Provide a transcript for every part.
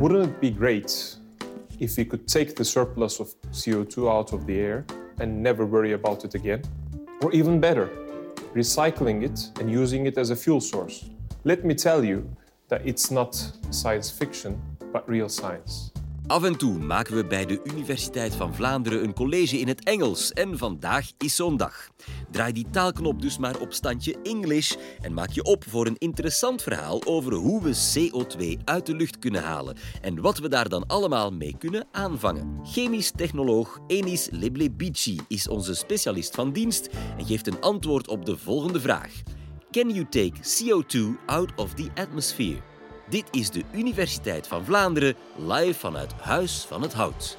Wouldn't it be great if we could take the surplus of CO2 out of the air and never worry about it again? Or even better, recycling it and using it as a fuel source. Let me tell you that it's not science fiction, but real science. Af en toe maken we bij de Universiteit van Vlaanderen een college in het Engels en vandaag is zo'n dag. Draai die taalknop dus maar op standje English en maak je op voor een interessant verhaal over hoe we CO2 uit de lucht kunnen halen en wat we daar dan allemaal mee kunnen aanvangen. Chemisch technoloog Enis Leblebici is onze specialist van dienst en geeft een antwoord op de volgende vraag. Can you take CO2 out of the atmosphere? Dit is de Universiteit van Vlaanderen, live vanuit Huis van het Hout.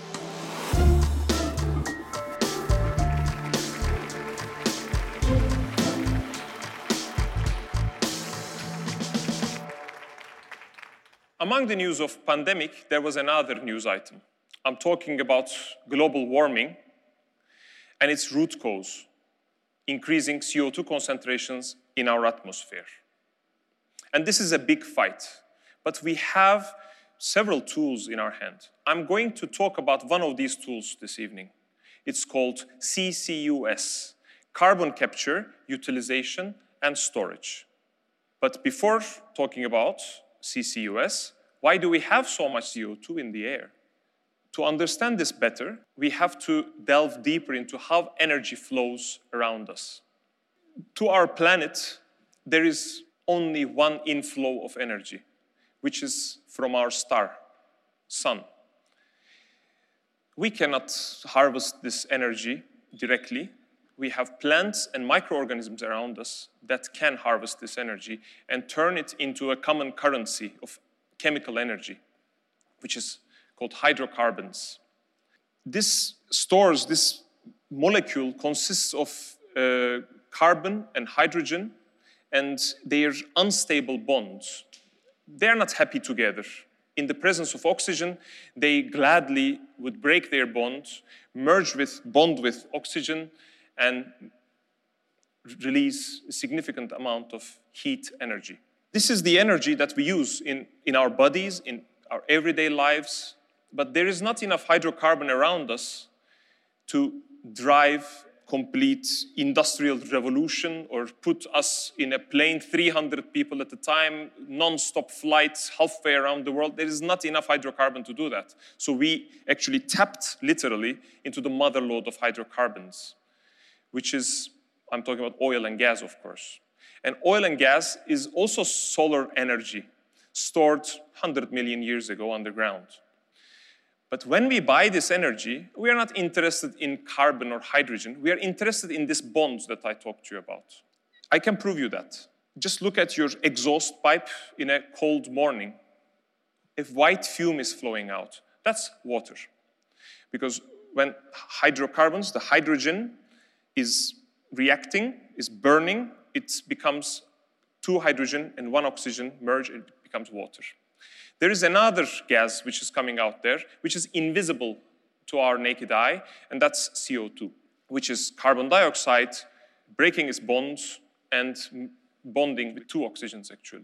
Among the news of pandemic, there was another news item. I'm talking about global warming and its root cause, increasing CO2 concentrations in our atmosphere. And this is a big fight, but we have several tools in our hand. I'm going to talk about one of these tools this evening. It's called CCUS, Carbon Capture, Utilization and Storage. But before talking about CCUS, why do we have so much CO2 in the air? To understand this better, we have to delve deeper into how energy flows around us. To our planet, there is only one inflow of energy, which is from our star, sun. We cannot harvest this energy directly. We have plants and microorganisms around us that can harvest this energy and turn it into a common currency of chemical energy, which is called hydrocarbons. This molecule consists of carbon and hydrogen and their unstable bonds. They're not happy together. In the presence of oxygen, they gladly would break their bond with oxygen, and release a significant amount of heat energy. This is the energy that we use in our bodies, in our everyday lives, but there is not enough hydrocarbon around us to drive complete industrial revolution or put us in a plane 300 people at a time, non-stop flights halfway around the world. There is not enough hydrocarbon to do that. So we actually tapped literally into the mother lode of hydrocarbons, which is, I'm talking about oil and gas, of course. And oil and gas is also solar energy stored 100 million years ago underground. But when we buy this energy, we are not interested in carbon or hydrogen. We are interested in these bonds that I talked to you about. I can prove you that. Just look at your exhaust pipe in a cold morning. If white fume is flowing out, that's water. Because when hydrocarbons, the hydrogen is reacting, is burning, it becomes 2 hydrogen and 1 oxygen merge, it becomes water. There is another gas which is coming out there, which is invisible to our naked eye, and that's CO2, which is carbon dioxide breaking its bonds and bonding with 2 oxygens, actually.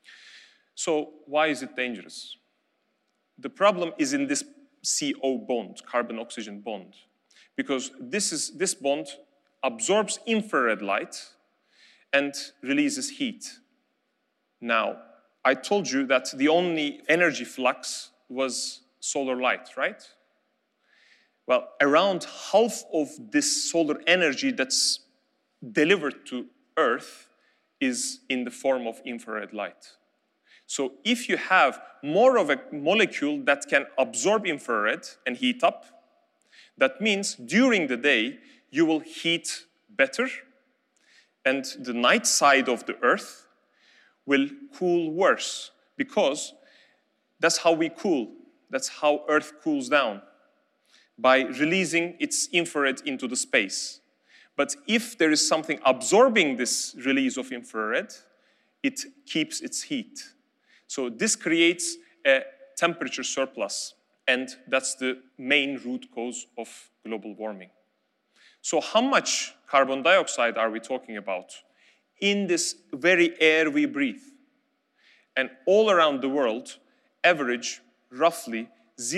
So why is it dangerous? The problem is in this CO bond, carbon-oxygen bond, because this bond absorbs infrared light and releases heat. Now, I told you that the only energy flux was solar light, right? Well, around half of this solar energy that's delivered to Earth is in the form of infrared light. So if you have more of a molecule that can absorb infrared and heat up, that means during the day you will heat better, and the night side of the Earth will cool worse, because that's how we cool. That's how Earth cools down, by releasing its infrared into the space. But if there is something absorbing this release of infrared, it keeps its heat. So this creates a temperature surplus, and that's the main root cause of global warming. So how much carbon dioxide are we talking about in this very air we breathe? And all around the world, average, roughly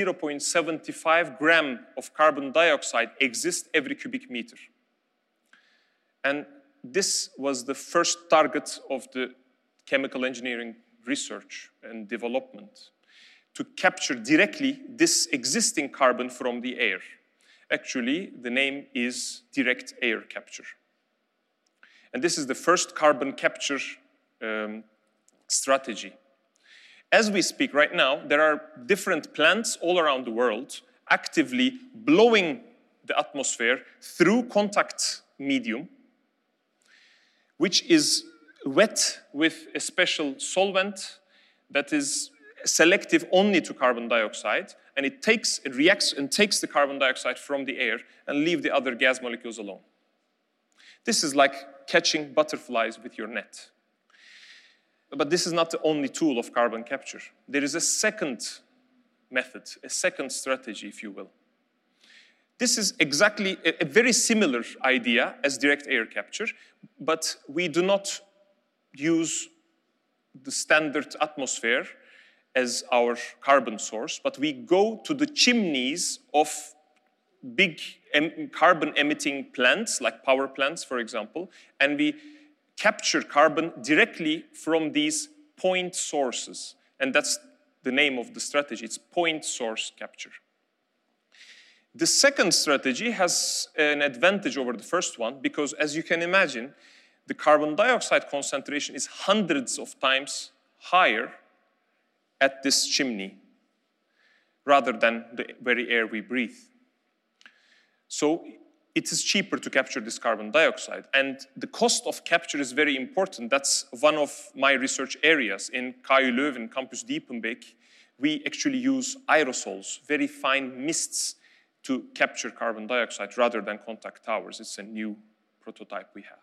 0.75 gram of carbon dioxide exists every cubic meter. And this was the first target of the chemical engineering research and development, to capture directly this existing carbon from the air. Actually, the name is direct air capture. And this is the first carbon capture strategy. As we speak right now, there are different plants all around the world actively blowing the atmosphere through contact medium, which is wet with a special solvent that is selective only to carbon dioxide, and it reacts and takes the carbon dioxide from the air and leave the other gas molecules alone. This is like catching butterflies with your net. But this is not the only tool of carbon capture. There is a second method, a second strategy, if you will. This is exactly a very similar idea as direct air capture, but we do not use the standard atmosphere as our carbon source, but we go to the chimneys of big carbon-emitting plants, like power plants, for example, and we capture carbon directly from these point sources. And that's the name of the strategy. It's point source capture. The second strategy has an advantage over the first one because, as you can imagine, the carbon dioxide concentration is hundreds of times higher at this chimney rather than the very air we breathe. So it is cheaper to capture this carbon dioxide. And the cost of capture is very important. That's one of my research areas. In KU Leuven, Campus Diepenbeek, we actually use aerosols, very fine mists, to capture carbon dioxide rather than contact towers. It's a new prototype we have.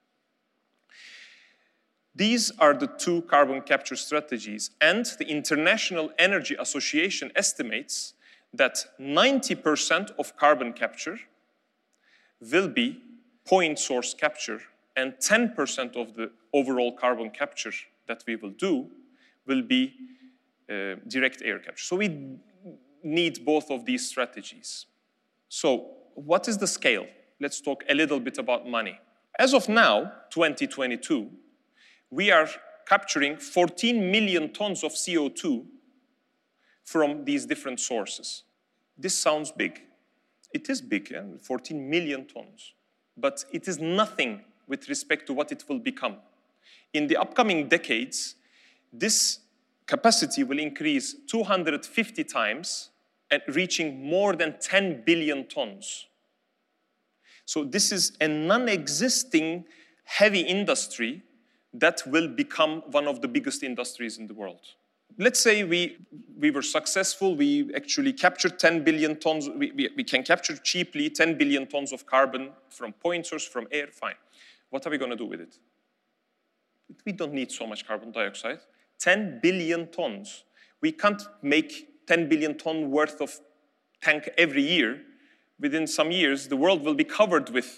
These are the two carbon capture strategies, and the International Energy Association estimates that 90% of carbon capture will be point source capture, and 10% of the overall carbon capture that we will do will be direct air capture. So we need both of these strategies. So what is the scale? Let's talk a little bit about money. As of now, 2022, we are capturing 14 million tons of CO2 from these different sources. This sounds big. It is big, 14 million tons. But it is nothing with respect to what it will become. In the upcoming decades, this capacity will increase 250 times and reaching more than 10 billion tons. So this is a non-existing heavy industry that will become one of the biggest industries in the world. Let's say we were successful, we actually captured 10 billion tons, we can capture cheaply 10 billion tons of carbon from point source, from air, fine. What are we going to do with it? We don't need so much carbon dioxide. 10 billion tons. We can't make 10 billion ton worth of tank every year. Within some years, the world will be covered with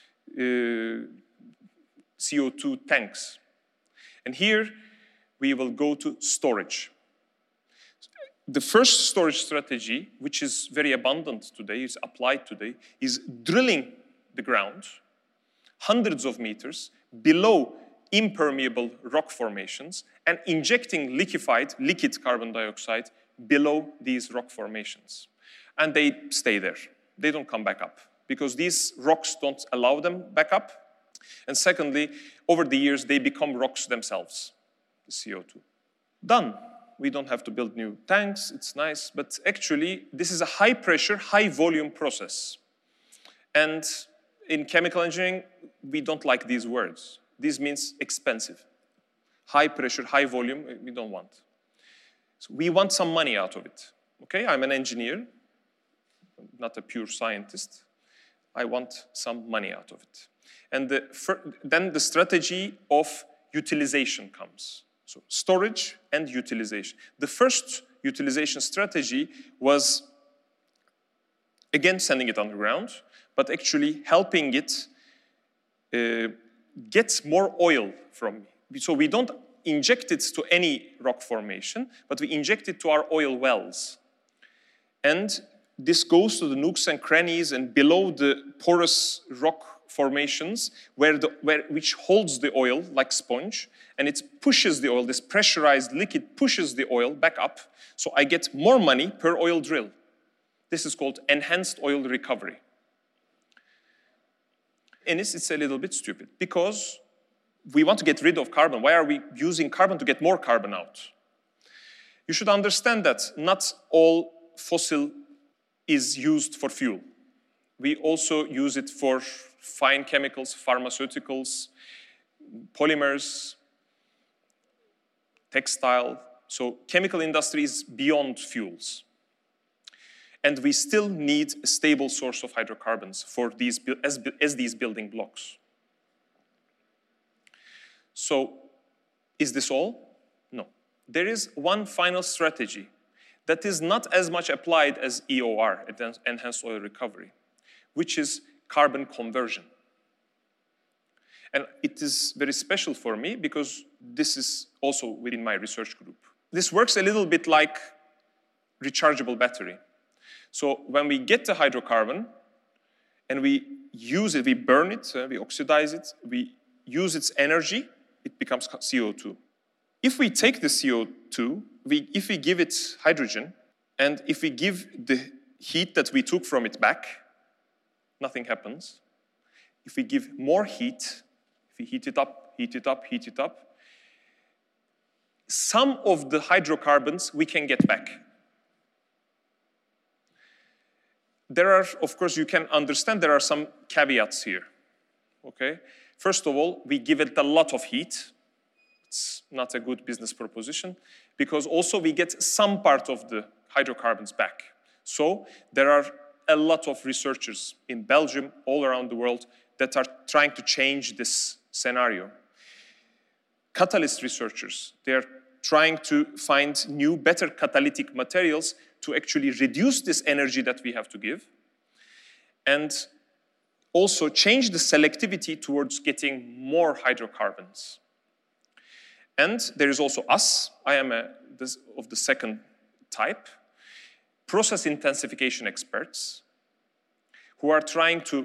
CO2 tanks. And here, we will go to storage. The first storage strategy, which is very abundant today, is applied today, is drilling the ground hundreds of meters below impermeable rock formations and injecting liquid carbon dioxide below these rock formations. And they stay there. They don't come back up because these rocks don't allow them back up. And secondly, over the years, they become rocks themselves, the CO2. Done. We don't have to build new tanks. It's nice. But actually, this is a high-pressure, high-volume process. And in chemical engineering, we don't like these words. This means expensive. High pressure, high volume, we don't want. So we want some money out of it. Okay, I'm an engineer, not a pure scientist. I want some money out of it. And then the strategy of utilization comes. So storage and utilization. The first utilization strategy was, again, sending it underground, but actually helping it get more oil from me. So we don't inject it to any rock formation, but we inject it to our oil wells. And this goes to the nooks and crannies and below the porous rock formations which holds the oil like sponge, and it pushes the oil, this pressurized liquid pushes the oil back up, so I get more money per oil drill. This is called enhanced oil recovery. And it's a little bit stupid, because we want to get rid of carbon. Why are we using carbon to get more carbon out? You should understand that not all fossil is used for fuel. We also use it for fine chemicals, pharmaceuticals, polymers, textile. So chemical industry is beyond fuels. And we still need a stable source of hydrocarbons for these, as these building blocks. So, is this all? No. There is one final strategy that is not as much applied as EOR, Enhanced Oil Recovery, which is carbon conversion. And it is very special for me because this is also within my research group. This works a little bit like rechargeable battery. So when we get the hydrocarbon and we use it, we burn it, we oxidize it, we use its energy, it becomes CO2. If we take the CO2, if we give it hydrogen, and if we give the heat that we took from it back, nothing happens. If we give more heat, if we heat it up, heat it up, heat it up, some of the hydrocarbons we can get back. There are, of course, you can understand there are some caveats here, okay? First of all, we give it a lot of heat. It's not a good business proposition because also we get some part of the hydrocarbons back. So there are a lot of researchers in Belgium, all around the world, that are trying to change this scenario. Catalyst researchers, they're trying to find new, better catalytic materials to actually reduce this energy that we have to give and also change the selectivity towards getting more hydrocarbons. And there is also us. I am of the second type, process intensification experts who are trying to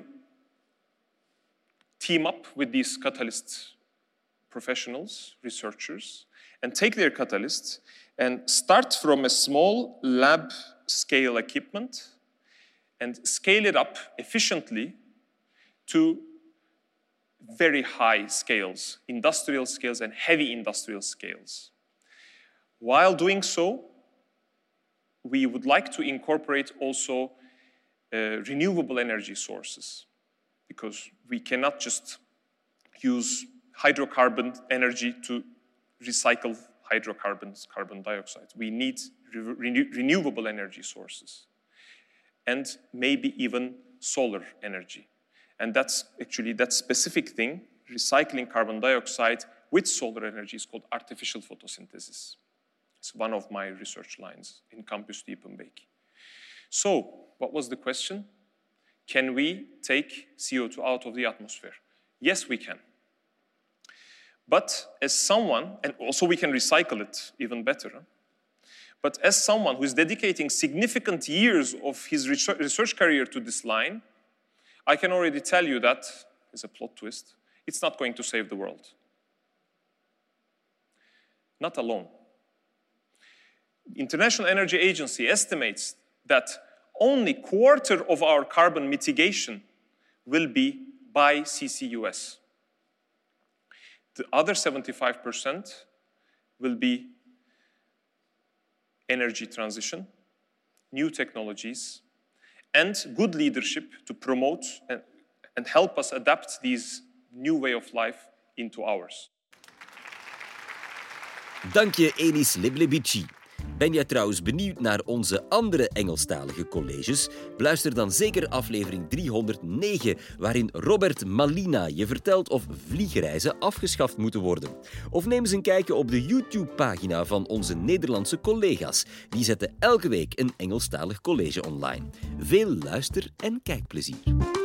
team up with these catalyst professionals, researchers, and take their catalysts and start from a small lab scale equipment and scale it up efficiently to very high scales, industrial scales and heavy industrial scales. While doing so, we would like to incorporate also renewable energy sources because we cannot just use hydrocarbon energy to recycle hydrocarbons, carbon dioxide. We need renewable energy sources and maybe even solar energy. And that's actually that specific thing, recycling carbon dioxide with solar energy is called artificial photosynthesis. It's one of my research lines in Campus Diepenbeek. So, what was the question? Can we take CO2 out of the atmosphere? Yes, we can. But as someone, and also we can recycle it even better, but as someone who is dedicating significant years of his research career to this line, I can already tell you that, as a plot twist, it's not going to save the world. Not alone. The International Energy Agency estimates that only a quarter of our carbon mitigation will be by CCUS. The other 75% will be energy transition, new technologies, and good leadership to promote and help us adapt these new way of life into ours. Dank je, Enis Leblebici. Ben jij trouwens benieuwd naar onze andere Engelstalige colleges? Beluister dan zeker aflevering 309, waarin Robert Malina je vertelt of vliegreizen afgeschaft moeten worden. Of neem eens een kijkje op de YouTube-pagina van onze Nederlandse collega's. Die zetten elke week een Engelstalig college online. Veel luister- en kijkplezier.